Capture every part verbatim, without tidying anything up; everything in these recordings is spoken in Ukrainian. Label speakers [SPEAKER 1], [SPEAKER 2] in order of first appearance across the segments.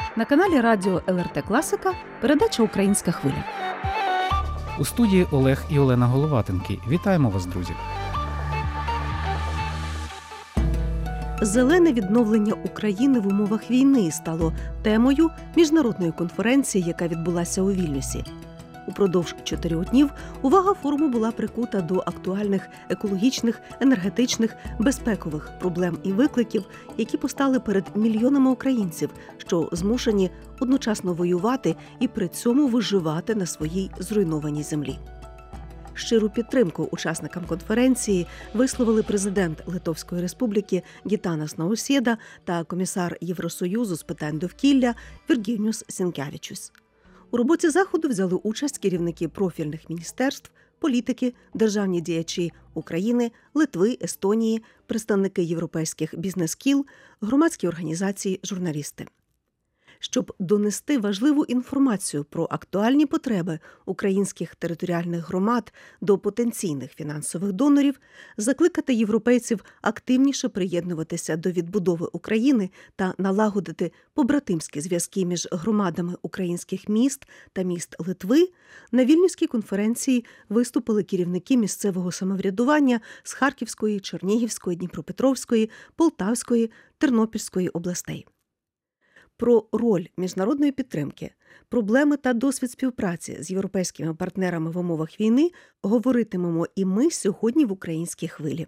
[SPEAKER 1] На каналі радіо ел ер те Класика передача «Українська хвиля».
[SPEAKER 2] У студії Олег і Олена Головатенки. Вітаємо вас, друзі!
[SPEAKER 1] Зелене відновлення України в умовах війни стало темою міжнародної конференції, яка відбулася у Вільнюсі. Упродовж чотирьох днів увага форуму була прикута до актуальних екологічних, енергетичних, безпекових проблем і викликів, які постали перед мільйонами українців, що змушені одночасно воювати і при цьому виживати на своїй зруйнованій землі. Щиру підтримку учасникам конференції висловили президент Литовської Республіки Гітанас Наусєда та комісар Євросоюзу з питань довкілля Віргініус Сінкевичус. У роботі заходу взяли участь керівники профільних міністерств, політики, державні діячі України, Литви, Естонії, представники європейських бізнес-кіл, громадські організації, журналісти. Щоб донести важливу інформацію про актуальні потреби українських територіальних громад до потенційних фінансових донорів, закликати європейців активніше приєднуватися до відбудови України та налагодити побратимські зв'язки між громадами українських міст та міст Литви, на Вільнюській конференції виступили керівники місцевого самоврядування з Харківської, Чернігівської, Дніпропетровської, Полтавської, Тернопільської областей. Про роль міжнародної підтримки, проблеми та досвід співпраці з європейськими партнерами в умовах війни говоритимемо і ми сьогодні в «Українській хвилі».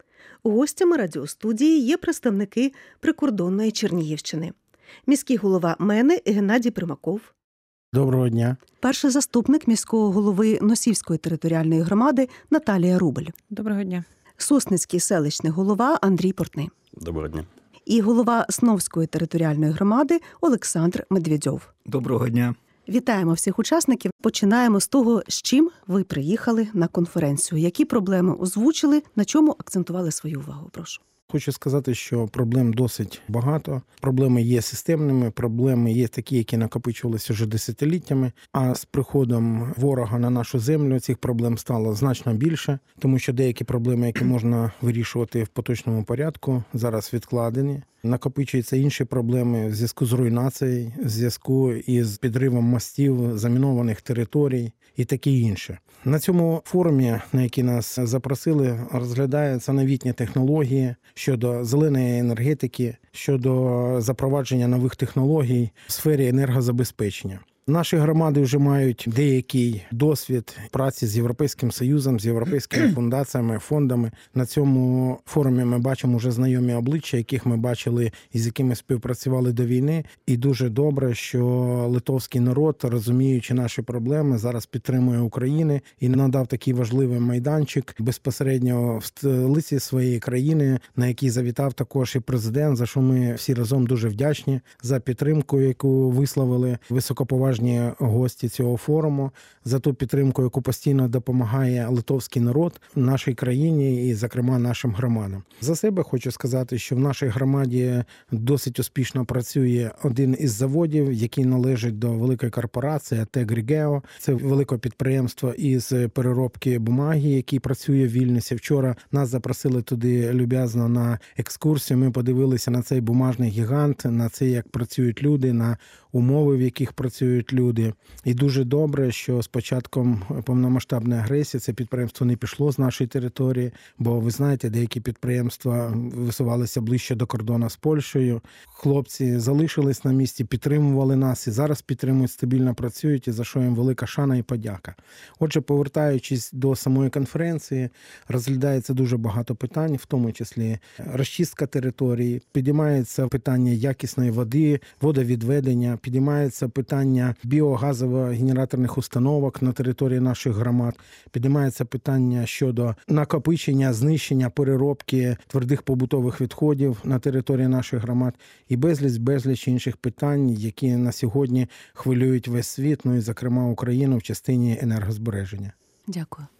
[SPEAKER 1] Гостями радіостудії є представники прикордонної Чернігівщини. Міський голова МЕНи Геннадій Примаков.
[SPEAKER 3] Доброго дня.
[SPEAKER 1] Перший заступник міського голови Носівської територіальної громади Наталія Рубель.
[SPEAKER 4] Доброго дня.
[SPEAKER 1] Сосницький селищний голова Андрій Портний.
[SPEAKER 5] Доброго дня.
[SPEAKER 1] І голова Сновської територіальної громади Олександр Медведьов.
[SPEAKER 6] Доброго дня.
[SPEAKER 1] Вітаємо всіх учасників. Починаємо з того, з чим ви приїхали на конференцію. Які проблеми озвучили, на чому акцентували свою увагу? Прошу.
[SPEAKER 3] Хочу сказати, що проблем досить багато. Проблеми є системними, проблеми є такі, які накопичувалися вже десятиліттями. А з приходом ворога на нашу землю цих проблем стало значно більше, тому що деякі проблеми, які можна вирішувати в поточному порядку, зараз відкладені. Накопичуються інші проблеми в зв'язку з руйнацією, в зв'язку із підривом мостів, замінованих територій і таке інше. На цьому форумі, на який нас запросили, розглядаються новітні технології щодо зеленої енергетики, щодо запровадження нових технологій в сфері енергозабезпечення. Наші громади вже мають деякий досвід праці з Європейським Союзом, з європейськими фундаціями, фондами. На цьому форумі ми бачимо вже знайомі обличчя, яких ми бачили і з якими співпрацювали до війни. І дуже добре, що литовський народ, розуміючи наші проблеми, зараз підтримує Україну і надав такий важливий майданчик безпосередньо в столиці своєї країни, на який завітав також і президент, за що ми всі разом дуже вдячні за підтримку, яку висловили високоповажні гості цього форуму, за ту підтримку, яку постійно допомагає литовський народ нашій країні і, зокрема, нашим громадам. За себе хочу сказати, що в нашій громаді досить успішно працює один із заводів, який належить до великої корпорації ТЕК Рігео. Це велике підприємство із переробки бумаги, який працює в Вільнюсі. Вчора нас запросили туди люб'язно на екскурсію. Ми подивилися на цей бумажний гігант, на це, як працюють люди, на умови, в яких працюють люди. І дуже добре, що з початком повномасштабної агресії це підприємство не пішло з нашої території, бо, ви знаєте, деякі підприємства висувалися ближче до кордону з Польщею. Хлопці залишились на місці, підтримували нас і зараз підтримують, стабільно працюють, і за що їм велика шана і подяка. Отже, повертаючись до самої конференції, розглядається дуже багато питань, в тому числі розчистка території, підіймається питання якісної води, водовідведення, підіймається питання біогазово-генераторних установок на території наших громад, підіймається питання щодо накопичення, знищення, переробки твердих побутових відходів на території наших громад і безліч-безліч інших питань, які на сьогодні хвилюють весь світ, ну і, зокрема, Україну в частині енергозбереження.
[SPEAKER 1] Дякую.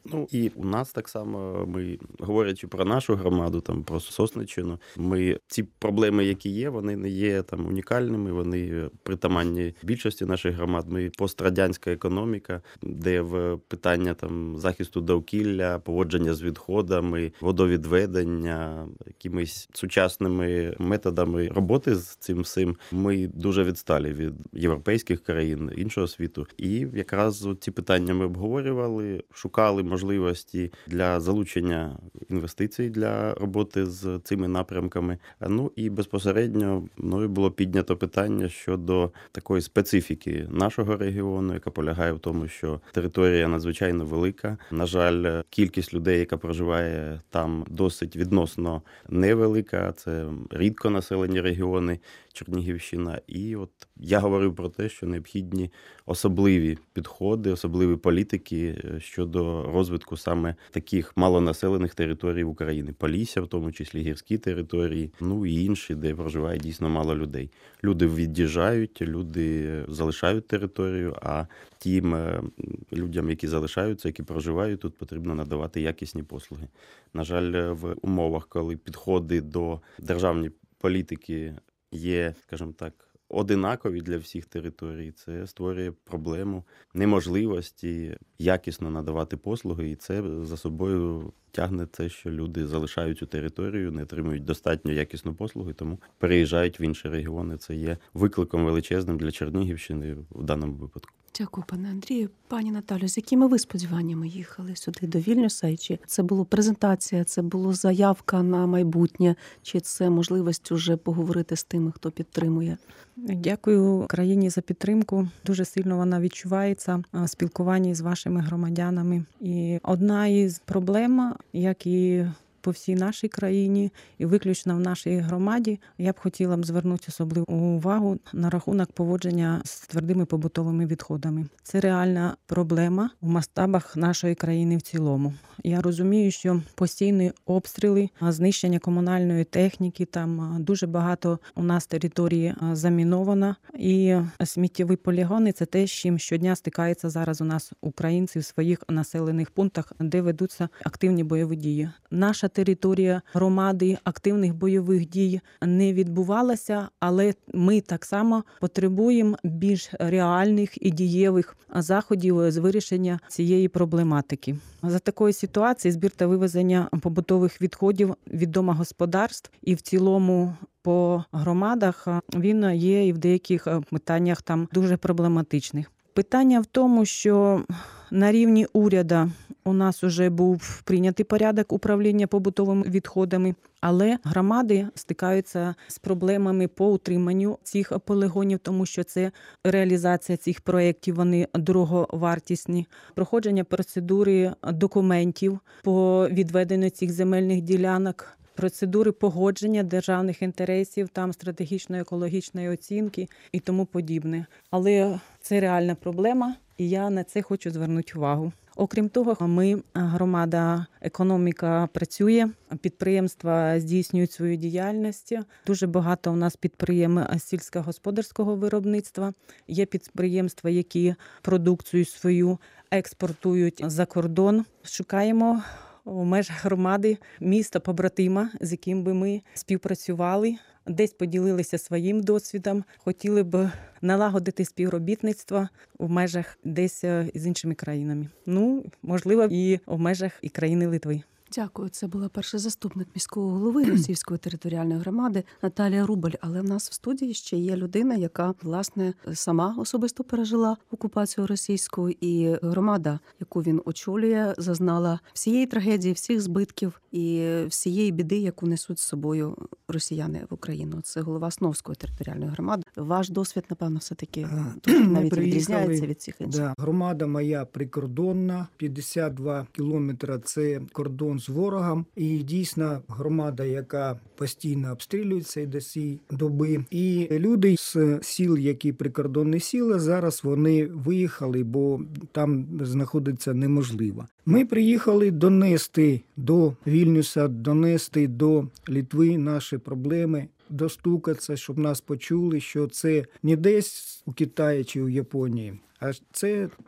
[SPEAKER 4] Ну і у нас так само, ми, говорячи про нашу громаду, там про Сосниччину, ми ці проблеми, які є, вони не є там унікальними, вони притаманні більшості наших громад. Ми пострадянська економіка, де в питання там захисту довкілля, поводження з відходами, водовідведення, якимись сучасними методами роботи з цим всім, ми дуже відсталі від європейських країн, іншого світу. І якраз ці питання ми обговорювали, шукали можливості для залучення інвестицій для роботи з цими напрямками. Ну і безпосередньо мною було піднято питання щодо такої специфіки нашого регіону, яка полягає в тому, що територія надзвичайно велика. На жаль, кількість людей, яка проживає там, досить відносно невелика. Це рідко населені регіони, Чернігівщина. І от я говорив про те, що необхідні особливі підходи, особливі політики щодо розвитку саме таких малонаселених територій України. Полісся, в тому числі гірські території, ну і інші, де проживає дійсно мало людей. Люди від'їжджають, люди залишають територію, а тим людям, які залишаються, які проживають тут, потрібно надавати якісні послуги. На жаль, в умовах, коли підходи до державної політики є, скажімо так, одинакові для всіх територій, це створює проблему неможливості якісно надавати послуги, і це за собою тягне те, що люди залишають цю територію, не отримують достатньо якісну послугу, тому переїжджають в інші регіони. Це є викликом величезним для Чернігівщини в даному випадку.
[SPEAKER 1] Дякую, пане Андрію. Пані Наталю, з якими ви сподіваннями їхали сюди до Вільнюса? І чи це була презентація, це була заявка на майбутнє, чи це можливість уже поговорити з тими, хто підтримує?
[SPEAKER 5] Дякую країні за підтримку. Дуже сильно вона відчувається в спілкуванні з вашими громадянами. І одна із проблем, як і по всій нашій країні і виключно в нашій громаді, я б хотіла б звернути особливу увагу на рахунок поводження з твердими побутовими відходами. Це реальна проблема в масштабах нашої країни в цілому. Я розумію, що постійні обстріли, знищення комунальної техніки, там дуже багато у нас території заміновано. І сміттєві полігони – це те, з чим щодня стикаються зараз у нас українці в своїх населених пунктах, де ведуться активні бойові дії. Наша територія громади активних бойових дій не відбувалася, але ми так само потребуємо більш реальних і дієвих заходів з вирішення цієї проблематики. За такої ситуації збір та вивезення побутових відходів від домогосподарств і в цілому по громадах він є і в деяких питаннях там дуже проблематичних. Питання в тому, що на рівні уряду у нас вже був прийнятий порядок управління побутовими відходами, але громади стикаються з проблемами по утриманню цих полігонів, тому що це реалізація цих проєктів, вони дороговартісні. Проходження процедури документів по відведенню цих земельних ділянок, процедури погодження державних інтересів, там стратегічної екологічної оцінки і тому подібне. Але це реальна проблема, і я на це хочу звернути увагу. Окрім того, ми, громада, економіка працює, підприємства здійснюють свою діяльність. Дуже багато у нас підприємств сільськогосподарського виробництва. Є підприємства, які продукцію свою експортують за кордон. Шукаємо у межах громади міста побратима, з яким би ми співпрацювали, десь поділилися своїм досвідом, хотіли б налагодити співробітництво в межах десь з іншими країнами. Ну, можливо, і в межах і країни Литви.
[SPEAKER 1] Дякую. Це була перший заступник міського голови Російської територіальної громади Наталія Рубаль. Але в нас в студії ще є людина, яка, власне, сама особисто пережила окупацію російську, і громада, яку він очолює, зазнала всієї трагедії, всіх збитків і всієї біди, яку несуть з собою росіяни в Україну. Це голова Основської територіальної громади. Ваш досвід, напевно, все-таки навіть відрізняється від всіх інших.
[SPEAKER 6] Да. Громада моя прикордонна, п'ятдесят два кілометри – це кордон з ворогом. І дійсно громада, яка постійно обстрілюється і до цієї доби. І люди з сіл, які прикордонні сіли, зараз вони виїхали, бо там знаходиться неможливо. Ми приїхали донести до Вільнюса, донести до Литви наші проблеми, достукатися, щоб нас почули, що це не десь у Китаї чи у Японії, а це тут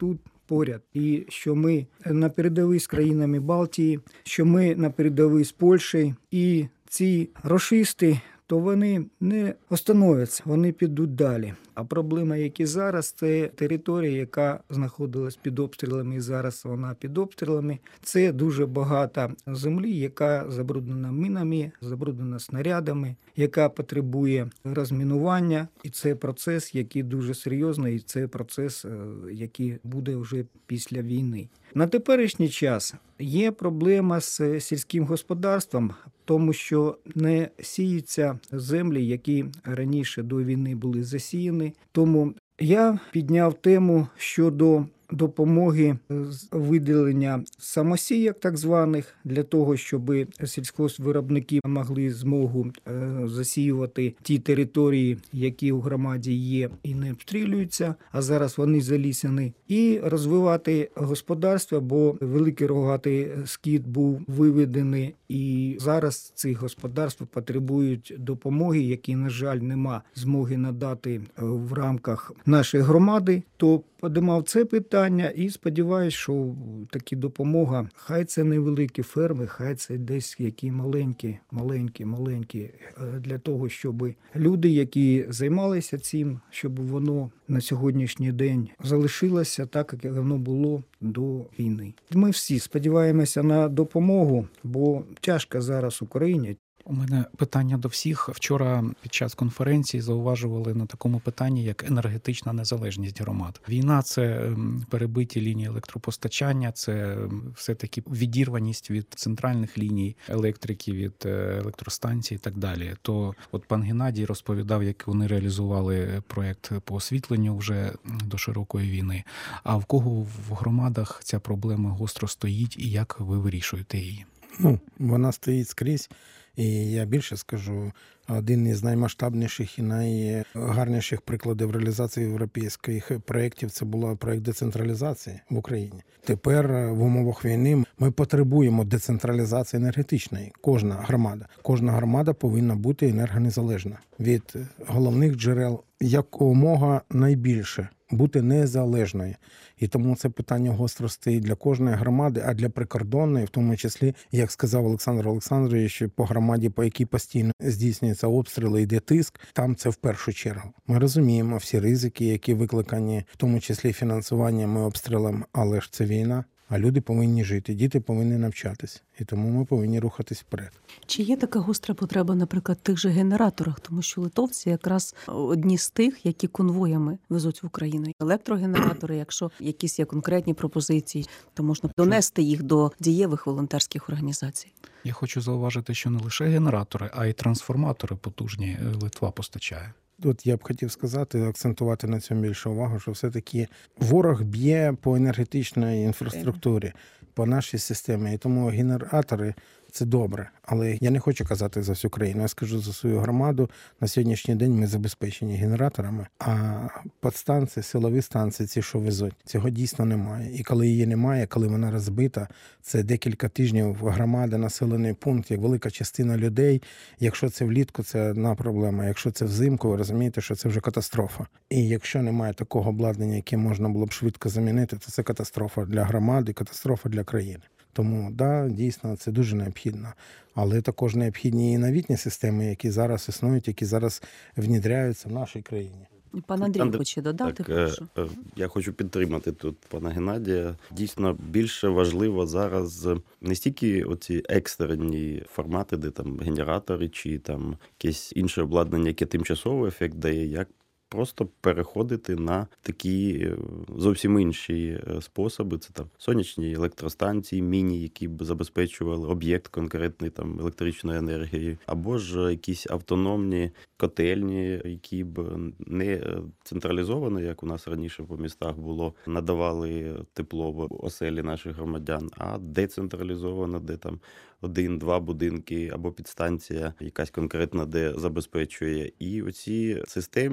[SPEAKER 6] поряд, і що ми на передовій з країнами Балтії, що ми на передовій з Польщею, і ці рашисти, то вони не остановляться, вони підуть далі. А проблема, які зараз, це територія, яка знаходилась під обстрілами, і зараз вона під обстрілами. Це дуже багато землі, яка забруднена мінами, забруднена снарядами, яка потребує розмінування. І це процес, який дуже серйозний, і це процес, який буде вже після війни. На теперішній час є проблема з сільським господарством, тому що не сіються землі, які раніше до війни були засіяні. Тому я підняв тему щодо допомоги з виділення самосіяк так званих, для того, щоб сільськогоспвиробники могли змогу засіювати ті території, які у громаді є і не обстрілюються, а зараз вони залісені, і розвивати господарство, бо великий рогатий скіт був виведений, і зараз ці господарства потребують допомоги, які, на жаль, нема змоги надати в рамках нашої громади. То подимав це питання і сподіваюся, що такі допомога, хай це невеликі ферми, хай це десь які маленькі, маленькі, маленькі, для того, щоб люди, які займалися цим, щоб воно на сьогоднішній день залишилося так, як воно було до війни. Ми всі сподіваємося на допомогу, бо тяжко зараз Україні.
[SPEAKER 2] У мене питання до всіх. Вчора під час конференції зауважували на такому питанні, як енергетична незалежність громад. Війна – це перебиті лінії електропостачання, це все-таки відірваність від центральних ліній електрики, від електростанцій і так далі. То от пан Геннадій розповідав, як вони реалізували проєкт по освітленню вже до широкої війни. А в кого в громадах ця проблема гостро стоїть і як ви вирішуєте її?
[SPEAKER 3] Ну, вона стоїть скрізь. І я більше скажу, один із наймасштабніших і найгарніших прикладів реалізації європейських проєктів – це був проєкт децентралізації в Україні. Тепер в умовах війни ми потребуємо децентралізації енергетичної. Кожна громада. Кожна громада повинна бути енергонезалежна від головних джерел якомога найбільше. Бути незалежною. І тому це питання гостро стоїть для кожної громади, а для прикордонної, в тому числі, як сказав Олександр Олександрович, по громаді, по якій постійно здійснюються обстріли, йде тиск, там це в першу чергу. Ми розуміємо всі ризики, які викликані, в тому числі фінансуванням і обстрілом, але ж це війна. А люди повинні жити, діти повинні навчатись. І тому ми повинні рухатись вперед.
[SPEAKER 1] Чи є така гостра потреба, наприклад, в тих же генераторах? Тому що литовці якраз одні з тих, які конвоями везуть в Україну. Електрогенератори, якщо якісь є конкретні пропозиції, то можна донести їх до дієвих волонтерських організацій.
[SPEAKER 2] Я хочу зауважити, що не лише генератори, а й трансформатори потужні Литва постачає.
[SPEAKER 3] От я б хотів сказати, акцентувати на цьому більше увагу, що все-таки ворог б'є по енергетичній інфраструктурі, по нашій системі. І тому генератори – це добре. Але я не хочу казати за всю країну. Я скажу за свою громаду. На сьогоднішній день ми забезпечені генераторами, а підстанції, силові станції, ці, що везуть, цього дійсно немає. І коли її немає, коли вона розбита, це декілька тижнів громада, населений пункт, як велика частина людей. Якщо це влітку, це одна проблема. Якщо це взимку, ви розумієте, що це вже катастрофа. І якщо немає такого обладнання, яке можна було б швидко замінити, то це катастрофа для громади, катастрофа для країни. Тому, да, дійсно, це дуже необхідно. Але також необхідні і новітні системи, які зараз існують, які зараз внідряються в нашій країні.
[SPEAKER 1] Пан Андрій
[SPEAKER 4] Андр...
[SPEAKER 1] хоче додати,
[SPEAKER 4] так,
[SPEAKER 1] прошу.
[SPEAKER 4] Я хочу підтримати тут пана Геннадія. Дійсно, більше важливо зараз не стільки оці екстрені формати, де там генератори чи там якесь інше обладнання, яке тимчасовий ефект дає, як просто переходити на такі зовсім інші способи. Це там сонячні електростанції, міні, які б забезпечували об'єкт конкретний там електричної енергії, або ж якісь автономні котельні, які б не централізовано, як у нас раніше по містах було, надавали тепло в оселі наших громадян, а децентралізовано, де там один-два будинки або підстанція якась конкретна, де забезпечує. І оці системні сталі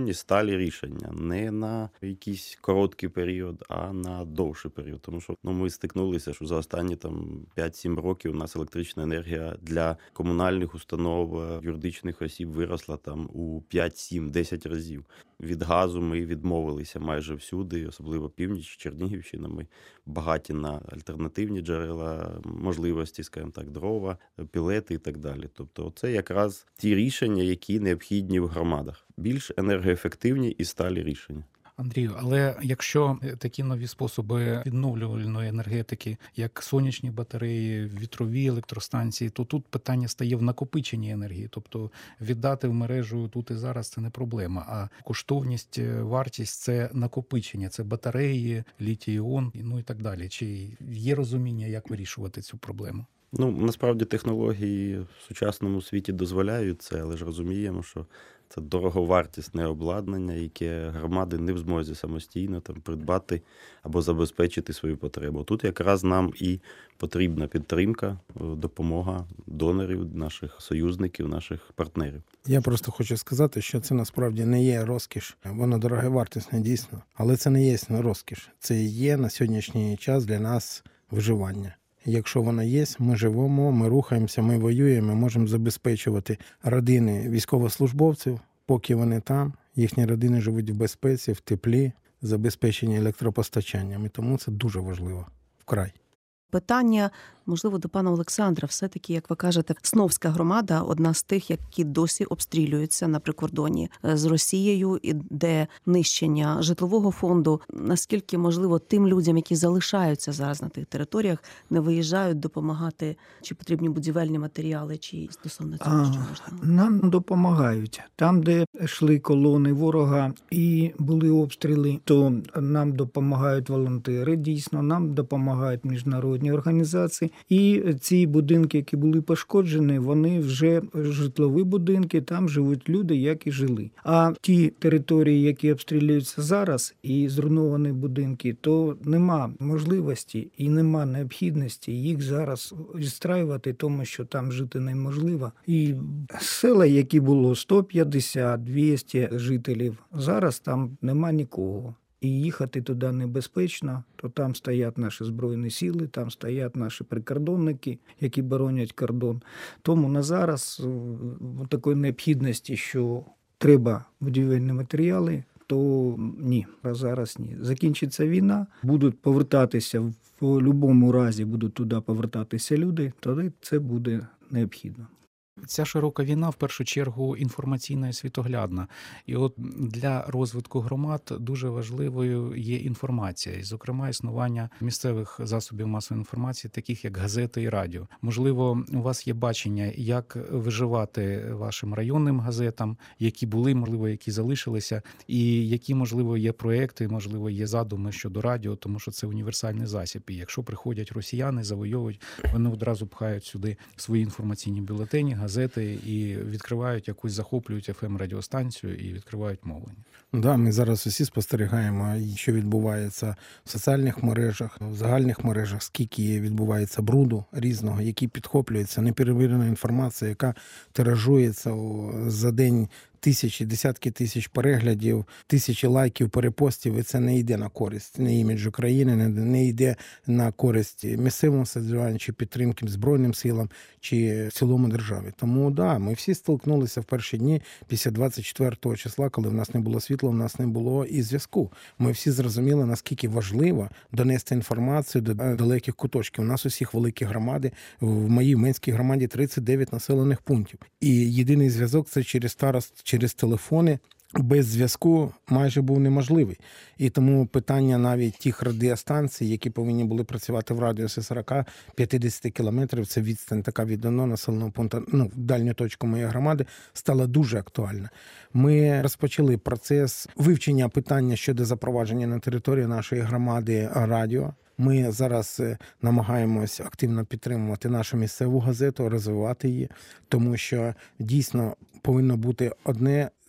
[SPEAKER 4] сталі рішення. Не на якийсь короткий період, а на довший період. Тому що ну, ми стикнулися, що за останні там п'ять-сім років у нас електрична енергія для комунальних установ, юридичних осіб виросла там у п'ять, сім, десять разів. Від газу ми відмовилися майже всюди, особливо північ, Чернігівщина. Ми багаті на альтернативні джерела можливості, скажімо так, дрова, пілети і так далі. Тобто це якраз ті рішення, які необхідні в громадах. Більш енергоефективні і сталі рішення.
[SPEAKER 2] Андрію, але якщо такі нові способи відновлювальної енергетики, як сонячні батареї, вітрові електростанції, то тут питання стає в накопиченні енергії. Тобто віддати в мережу тут і зараз – це не проблема, а коштовність, вартість – це накопичення, це батареї, літій-іон, ну і так далі. Чи є розуміння, як вирішувати цю проблему?
[SPEAKER 4] Ну, насправді технології в сучасному світі дозволяють це, але ж розуміємо, що це дороговартісне обладнання, яке громади не в змозі самостійно там придбати або забезпечити свою потребу. Тут якраз нам і потрібна підтримка, допомога донорів, наших союзників, наших партнерів.
[SPEAKER 3] Я просто хочу сказати, що це насправді не є розкіш. Воно дороговартісне дійсно, але це не є розкіш. Це є на сьогоднішній час для нас виживання. Якщо воно є, ми живемо, ми рухаємося, ми воюємо, ми можемо забезпечувати родини військовослужбовців, поки вони там, їхні родини живуть в безпеці, в теплі, забезпечені електропостачанням. І тому це дуже важливо вкрай.
[SPEAKER 1] Питання, можливо, до пана Олександра. Все-таки, як ви кажете, Сновська громада – одна з тих, які досі обстрілюються на прикордоні з Росією, і де нищення житлового фонду. Наскільки, можливо, тим людям, які залишаються зараз на тих територіях, не виїжджають допомагати, чи потрібні будівельні матеріали, чи стосовно цього, що можна?
[SPEAKER 6] Нам допомагають. Там, де йшли колони ворога і були обстріли, то нам допомагають волонтери, дійсно, нам допомагають міжнародні організації. І ці будинки, які були пошкоджені, вони вже житлові будинки, там живуть люди, як і жили. А ті території, які обстрілюються зараз, і зруйновані будинки, то нема можливості і нема необхідності їх зараз відстраювати, тому що там жити неможливо. І села, які було сто п'ятдесят - двісті жителів, зараз там нема нікого. І їхати туди небезпечно, то там стоять наші Збройні сили, там стоять наші прикордонники, які боронять кордон. Тому на зараз такої необхідності, що треба будівельні матеріали, то ні, а зараз ні. Закінчиться війна, будуть повертатися, в будь-якому разі будуть туди повертатися люди, тоді це буде необхідно.
[SPEAKER 2] Ця широка війна, в першу чергу, інформаційна і світоглядна. І от для розвитку громад дуже важливою є інформація. І, зокрема, існування місцевих засобів масової інформації, таких як газети і радіо. Можливо, у вас є бачення, як виживати вашим районним газетам, які були, можливо, які залишилися, і які, можливо, є проекти, можливо, є задуми щодо радіо, тому що це універсальний засіб. І якщо приходять росіяни, завойовують, вони одразу пхають сюди свої інформаційні бюлетені, газети і відкривають якусь, захоплюють еф ем-радіостанцію і відкривають мовлення.
[SPEAKER 3] Да, ми зараз усі спостерігаємо, що відбувається в соціальних мережах, в загальних мережах, скільки відбувається бруду різного, який підхоплюється, неперевірена інформація, яка тиражується за день. Тисячі, десятки тисяч переглядів, тисячі лайків, перепостів, і це не йде на користь не іміджу країни, не, не йде на користь місцевому самоврядуванню, чи підтримки Збройним силам, чи в цілому державі. Тому, да, ми всі столкнулися в перші дні після двадцять четвертого числа, коли в нас не було світла, в нас не було і зв'язку. Ми всі зрозуміли, наскільки важливо донести інформацію до далеких куточків. У нас усіх великі громади, в моїй Менській громаді тридцять дев'ять населених пунктів. І єдиний зв'язок – це через старост, через телефони, без зв'язку майже був неможливий. І тому питання навіть тих радіостанцій, які повинні були працювати в радіусі сорок-п'ятдесят кілометрів, це відстань така від одного населеного пункту, ну, в дальню точку моєї громади, стала дуже актуальна. Ми розпочали процес вивчення питання щодо запровадження на території нашої громади радіо. Ми зараз намагаємось активно підтримувати нашу місцеву газету, розвивати її, тому що дійсно повинно бути одне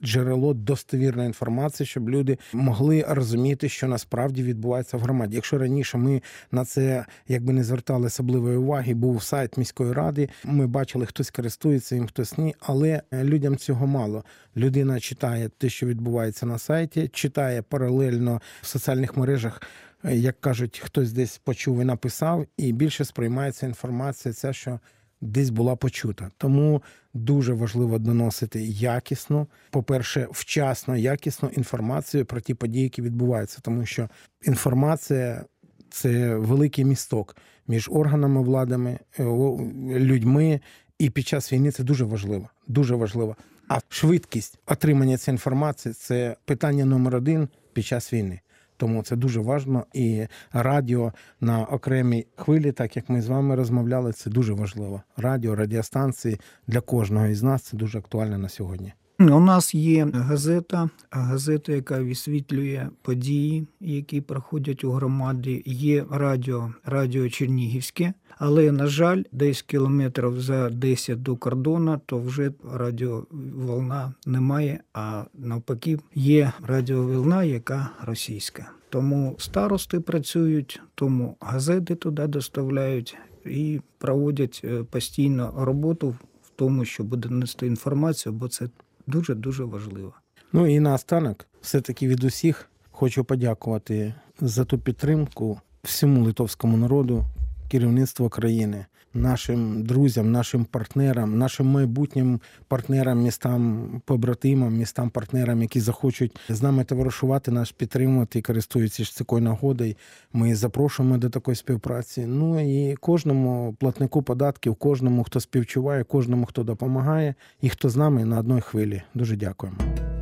[SPEAKER 3] джерело достовірної інформації, щоб люди могли розуміти, що насправді відбувається в громаді. Якщо раніше ми на це якби не звертали особливої уваги, був сайт міської ради, ми бачили, хтось користується їм, хтось ні, але людям цього мало. Людина читає те, що відбувається на сайті, читає паралельно в соціальних мережах, як кажуть, хтось десь почув і написав, і більше сприймається інформація ця, що десь була почута. Тому дуже важливо доносити якісну, по-перше, вчасно, якісну інформацію про ті події, які відбуваються. Тому що інформація – це великий місток між органами владами, людьми, і під час війни це дуже важливо. Дуже важливо. А швидкість отримання цієї інформації – це питання номер один під час війни. Тому це дуже важливо. І радіо на окремій хвилі, так як ми з вами розмовляли, це дуже важливо. Радіо, радіостанції для кожного із нас – це дуже актуально на сьогодні.
[SPEAKER 6] У нас є газета, газета, яка висвітлює події, які проходять у громаді. Є радіо, радіо Чернігівське, але, на жаль, десь кілометрів за десять до кордону, то вже радіоволна немає, а навпаки є радіоволна, яка російська. Тому старости працюють, тому газети туди доставляють і проводять постійно роботу в тому, що буде нести інформацію, бо це дуже-дуже важливо.
[SPEAKER 3] Ну і наостанок, все-таки від усіх хочу подякувати за ту підтримку всьому литовському народу, керівництву країни, нашим друзям, нашим партнерам, нашим майбутнім партнерам, містам-побратимам, містам-партнерам, які захочуть з нами товаришувати, нас підтримувати і користуються такою нагодою. Ми запрошуємо до такої співпраці. Ну і кожному платнику податків, кожному, хто співчуває, кожному, хто допомагає і хто з нами на одній хвилі. Дуже дякуємо.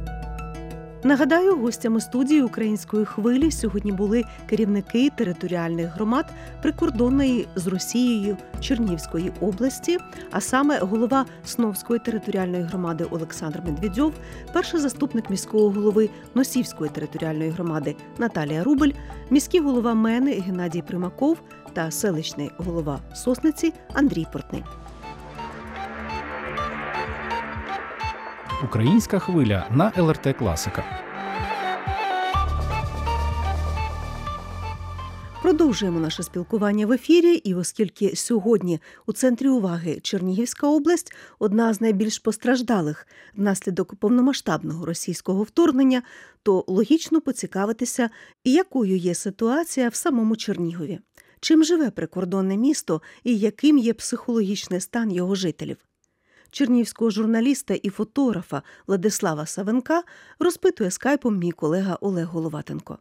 [SPEAKER 1] Нагадаю, гостями студії «Української хвилі» сьогодні були керівники територіальних громад прикордонної з Росією Чернігівської області, а саме голова Сновської територіальної громади Олександр Медведьов, перший заступник міського голови Носівської територіальної громади Наталія Рубель, міський голова Мени Геннадій Примаков та селищний голова Сосниці Андрій Портний.
[SPEAKER 2] Українська хвиля на ел ер те Класика.
[SPEAKER 1] Продовжуємо наше спілкування в ефірі, і оскільки сьогодні у центрі уваги Чернігівська область – одна з найбільш постраждалих внаслідок повномасштабного російського вторгнення, то логічно поцікавитися, якою є ситуація в самому Чернігові. Чим живе прикордонне місто і яким є психологічний стан його жителів? Чернігівського журналіста і фотографа Владислава Савенка розпитує скайпом мій колега Олег Головатенко.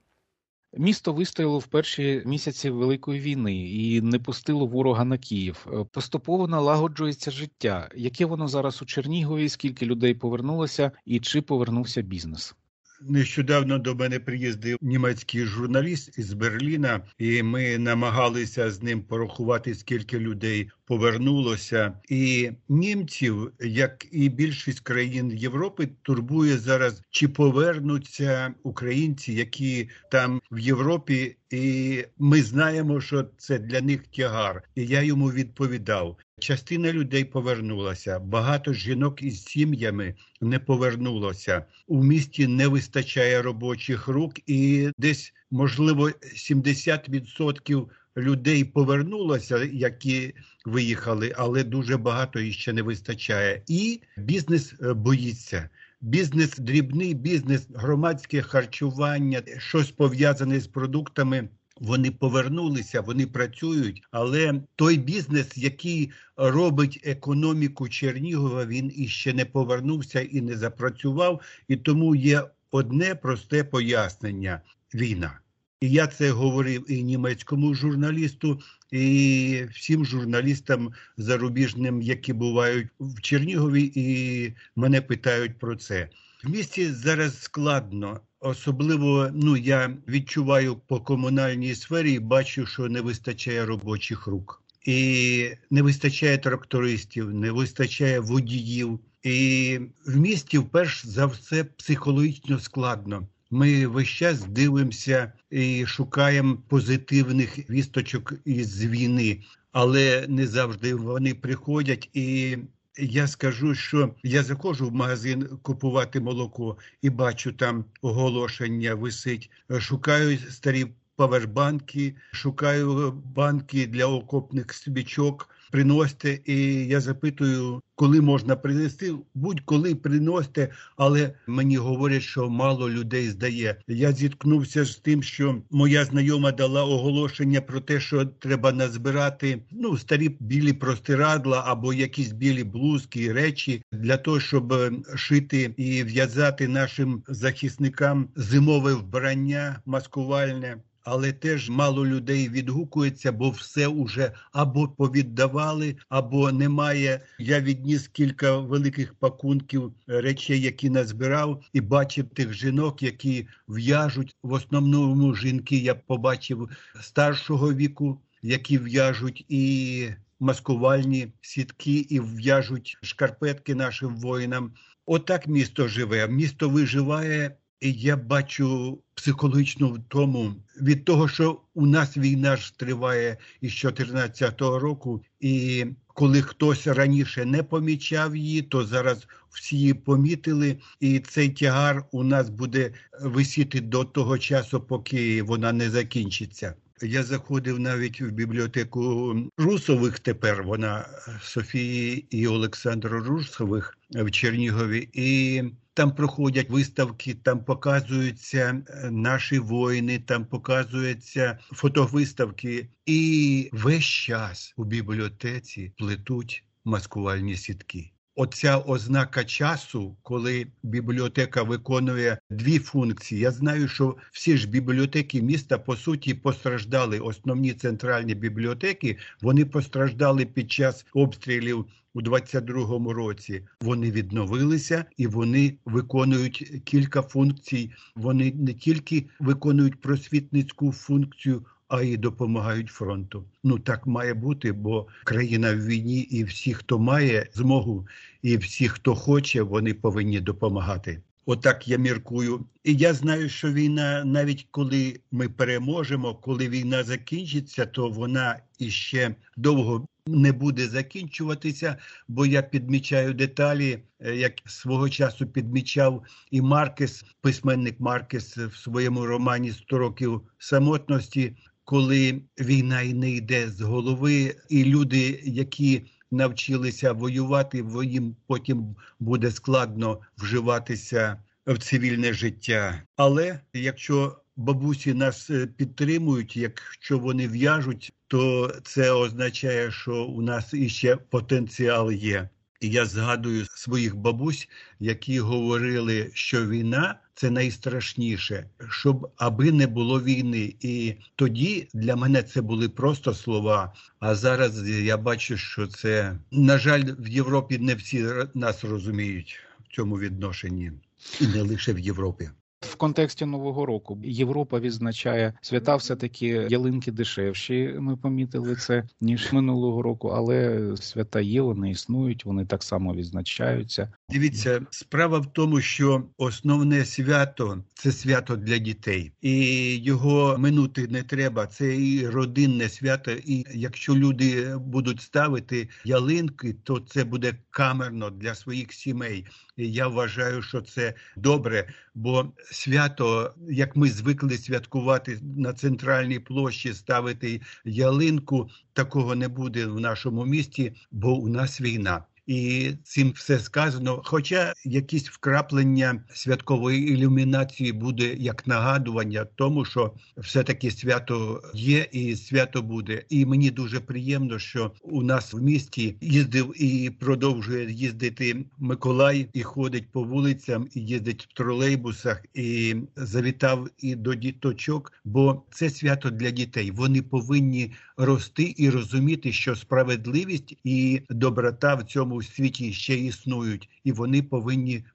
[SPEAKER 2] Місто вистояло в перші місяці Великої війни і не пустило ворога на Київ. Поступово налагоджується життя. Яке воно зараз у Чернігові, скільки людей повернулося і чи повернувся бізнес?
[SPEAKER 7] Нещодавно до мене приїздив німецький журналіст із Берліна, і ми намагалися з ним порахувати, скільки людей повернулося. І німців, як і більшість країн Європи, турбує зараз, чи повернуться українці, які там в Європі, і ми знаємо, що це для них тягар. І я йому відповідав. Частина людей повернулася, багато жінок із сім'ями не повернулося. У місті не вистачає робочих рук і десь, можливо, сімдесят відсотків людей повернулося, які виїхали, але дуже багато іще не вистачає. І бізнес боїться. Бізнес, дрібний бізнес, громадське харчування, щось пов'язане з продуктами. Вони повернулися, вони працюють, але той бізнес, який робить економіку Чернігова, він іще не повернувся і не запрацював, і тому є одне просте пояснення – війна. І я це говорив і німецькому журналісту, і всім журналістам зарубіжним, які бувають в Чернігові, і мене питають про це. В місті зараз складно. Особливо, ну, я відчуваю по комунальній сфері і бачу, що не вистачає робочих рук. І не вистачає трактористів, не вистачає водіїв. І в місті, вперше за все, психологічно складно. Ми весь час дивимося і шукаємо позитивних вісточок із війни, але не завжди вони приходять. І я скажу, що я заходжу в магазин купувати молоко і бачу, там оголошення висить. Шукаю старі павербанки, шукаю банки для окопних свічок. Приносите, і я запитую, коли можна принести. Будь-коли приносите, але мені говорять, що мало людей здає. Я зіткнувся з тим, що моя знайома дала оголошення про те, що треба назбирати ну, старі білі простирадла або якісь білі блузки, речі для того, щоб шити і в'язати нашим захисникам зимове вбрання маскувальне. Але теж мало людей відгукується, бо все уже або повіддавали, або немає. Я відніс кілька великих пакунків речей, які назбирав, і бачив тих жінок, які в'яжуть. В основному жінки я побачив старшого віку, які в'яжуть і маскувальні сітки, і в'яжуть шкарпетки нашим воїнам. Отак місто живе, місто виживає. І я бачу психологічну втому від того, що у нас війна ж триває із чотирнадцятого року, і коли хтось раніше не помічав її, то зараз всі її помітили, і цей тягар у нас буде висіти до того часу, поки вона не закінчиться. Я заходив навіть в бібліотеку Русових тепер, вона Софії і Олександра Русових в Чернігові, і там проходять виставки, там показуються наші воїни, там показуються фотовиставки. І весь час у бібліотеці плетуть маскувальні сітки. Оця ознака часу, коли бібліотека виконує дві функції. Я знаю, що всі ж бібліотеки міста, по суті, постраждали. Основні центральні бібліотеки, вони постраждали під час обстрілів у двадцять другому році. Вони відновилися і вони виконують кілька функцій. Вони не тільки виконують просвітницьку функцію, а й допомагають фронту. Ну, так має бути, бо країна в війні, і всі, хто має змогу, і всі, хто хоче, вони повинні допомагати. Отак я міркую. І я знаю, що війна, навіть коли ми переможемо, коли війна закінчиться, то вона іще довго не буде закінчуватися, бо я підмічаю деталі, як свого часу підмічав і Маркес, письменник Маркес в своєму романі «сто років самотності», коли війна і не йде з голови, і люди, які навчилися воювати, їм потім буде складно вживатися в цивільне життя. Але якщо бабусі нас підтримують, якщо вони в'яжуть, то це означає, що у нас іще потенціал є. І я згадую своїх бабусь, які говорили, що війна – це найстрашніше, щоб аби не було війни. І тоді для мене це були просто слова, а зараз я бачу, що це, на жаль, в Європі не всі нас розуміють в цьому відношенні, і не лише в Європі.
[SPEAKER 2] В контексті Нового року Європа відзначає свята, все-таки ялинки дешевші, ми помітили це, ніж минулого року, але свята є, вони існують, вони так само відзначаються.
[SPEAKER 7] Дивіться, справа в тому, що основне свято – це свято для дітей. І його минути не треба, це і родинне свято. І якщо люди будуть ставити ялинки, то це буде камерно для своїх сімей. І я вважаю, що це добре, бо свято, як ми звикли святкувати на центральній площі, ставити ялинку, такого не буде в нашому місті, бо у нас війна. І цим все сказано. Хоча якісь вкраплення святкової ілюмінації буде як нагадування тому, що все-таки свято є і свято буде. І мені дуже приємно, що у нас в місті їздив і продовжує їздити Миколай, і ходить по вулицям, і їздить в тролейбусах, і завітав і до діточок, бо це свято для дітей. Вони повинні рости і розуміти, що справедливість і доброта в цьому у світі ще існують, і вони повинні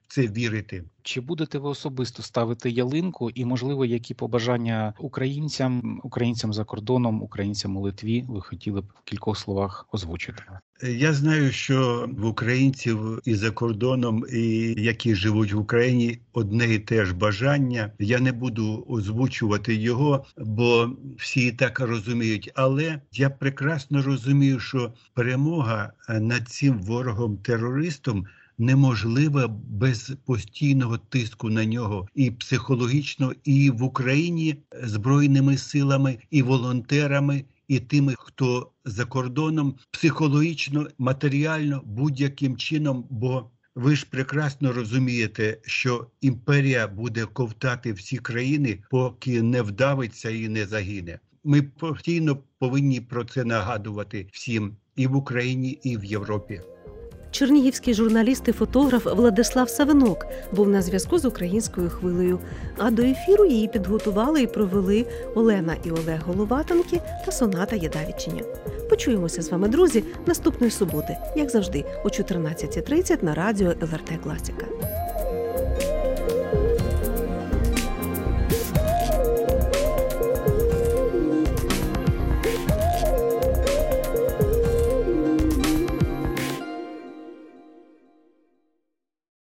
[SPEAKER 7] в це вірити.
[SPEAKER 2] Чи будете ви особисто ставити ялинку і, можливо, які побажання українцям, українцям за кордоном, українцям у Литві ви хотіли б в кількох словах озвучити?
[SPEAKER 7] Я знаю, що в українців і за кордоном, і які живуть в Україні, одне і те ж бажання. Я не буду озвучувати його, бо всі і так розуміють. Але я прекрасно розумію, що перемога над цим ворогом-терористом неможлива без постійного тиску на нього і психологічно, і в Україні збройними силами, і волонтерами, і тими, хто за кордоном, психологічно, матеріально, будь-яким чином, бо ви ж прекрасно розумієте, що імперія буде ковтати всі країни, поки не вдавиться і не загине. Ми постійно повинні про це нагадувати всім і в Україні, і в Європі.
[SPEAKER 1] Чернігівський журналіст і фотограф Владислав Савинок був на зв'язку з українською хвилею. А до ефіру її підготували і провели Олена і Олег Головатенки та Соната Єдавічиня. Почуємося з вами, друзі, наступної суботи, як завжди, о чотирнадцята тридцять на радіо ел ер те Класика.